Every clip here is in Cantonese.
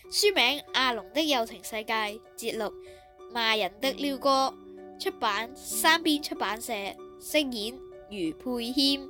書名《阿龍的有情世界》，節錄《罵人的鷯哥》，出版三邊出版社，聲演余佩謙。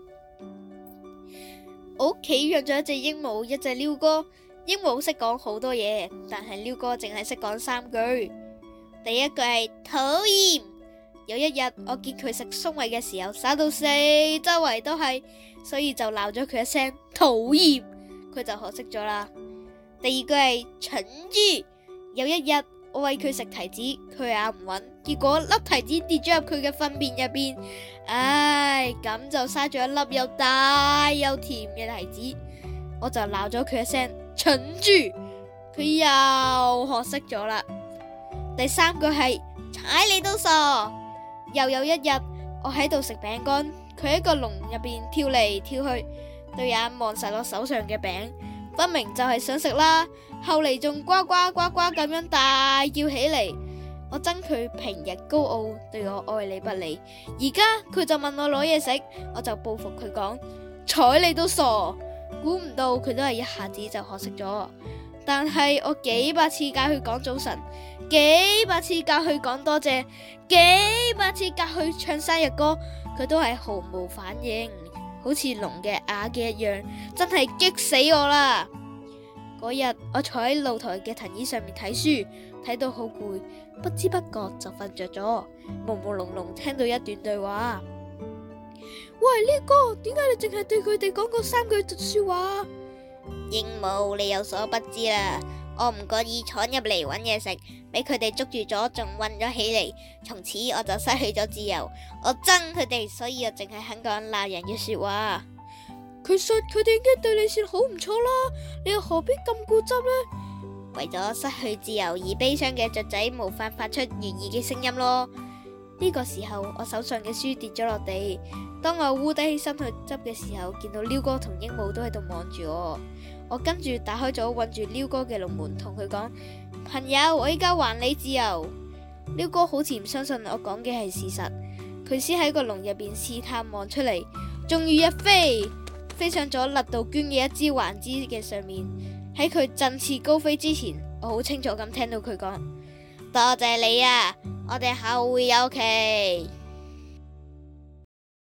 我屋企養咗一隻鸚鵡，一隻鷯哥。鸚鵡識講好多嘢，但係鷯哥淨係識講3句。第一句係討厭。有一日我見佢食粟米嘅時候灑到四周圍都係，所以就鬧咗佢一聲討厭，佢就學識咗啦。第二句係蠢豬。有一日我餵佢食提子，佢咬唔穩，結果粒提子跌咗入佢嘅糞便入邊，咁就嘥咗一粒又大又甜嘅提子，我就鬧咗佢一聲蠢豬，佢又學識咗啦。第三句係踩你都傻。又有一日我喺度食餅乾，佢喺個籠入邊跳嚟跳去，對眼望實我手上嘅餅，分明就係想食啦。後嚟仲呱呱呱呱咁樣大叫起嚟。我憎佢平日高傲，對我愛理不理，而家佢就問我攞嘢食，我就報復佢講睬你都傻。估唔到佢都係一下子就學識咗。但係我幾百次教佢講早晨，幾百次教佢講多謝，幾百次教佢唱生日歌，佢都係毫無反應，好似聾嘅啞嘅一樣，真係激死我啦！嗰日我坐喺露台嘅藤椅上面睇書，睇到好攰，不知不覺就瞓着咗，朦朦朧朧聽到一段對話。喂，呢個點解你淨係對佢哋講過3句說話？ 鸚鵡，你有所不知啦，我唔覺意闖入嚟搵嘢食，俾佢哋捉住咗，仲韞咗起嚟，從此我就失去咗自由。我憎佢哋，所以我淨係肯講鬧人嘅說話。 其實佢哋已經對你算好唔錯啦，你又何必咁固執呢？ 為咗失去自由而悲傷嘅雀仔無法發出願意嘅聲音咯。 呢個時候我手上嘅書跌咗落地，當我烏低起身去執嘅時候，見到鷯哥同鸚鵡都喺度望住我。我跟住打開咗困住鷯哥嘅籠門，同佢講：朋友，我依家還你自由。鷯哥好似唔相信我講嘅係事實，佢先喺個籠入邊試探望出嚟，終於一飛上咗勒杜鵑嘅一支橫枝嘅上面。喺佢振翅高飛之前，我好清楚咁聽到佢講： 多謝你啊，我哋後會有期。